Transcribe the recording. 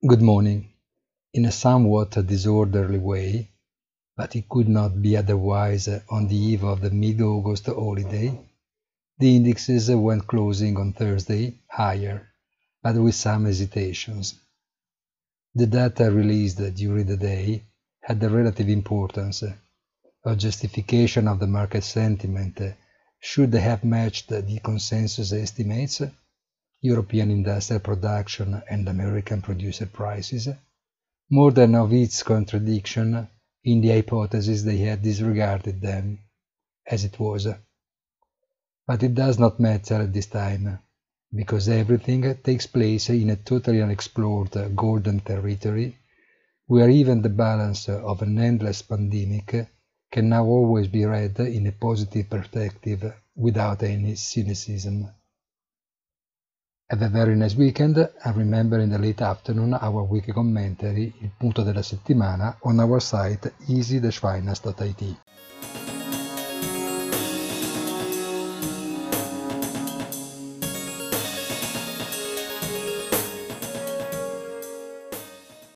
Good morning. In a somewhat disorderly way, but it could not be otherwise on the eve of the mid-August holiday, the indexes went closing on Thursday higher, but with some hesitations. The data released during the day had a relative importance. A justification of the market sentiment should have matched the consensus estimates, European industrial production and American producer prices, more than of its contradiction in the hypothesis they had disregarded them, as it was. But it does not matter at this time, because everything takes place in a totally unexplored golden territory, where even the balance of an endless pandemic can now always be read in a positive perspective without any cynicism. Have a very nice weekend, and remember in the late afternoon our weekly commentary, il punto della settimana, on our site easy-finance.it.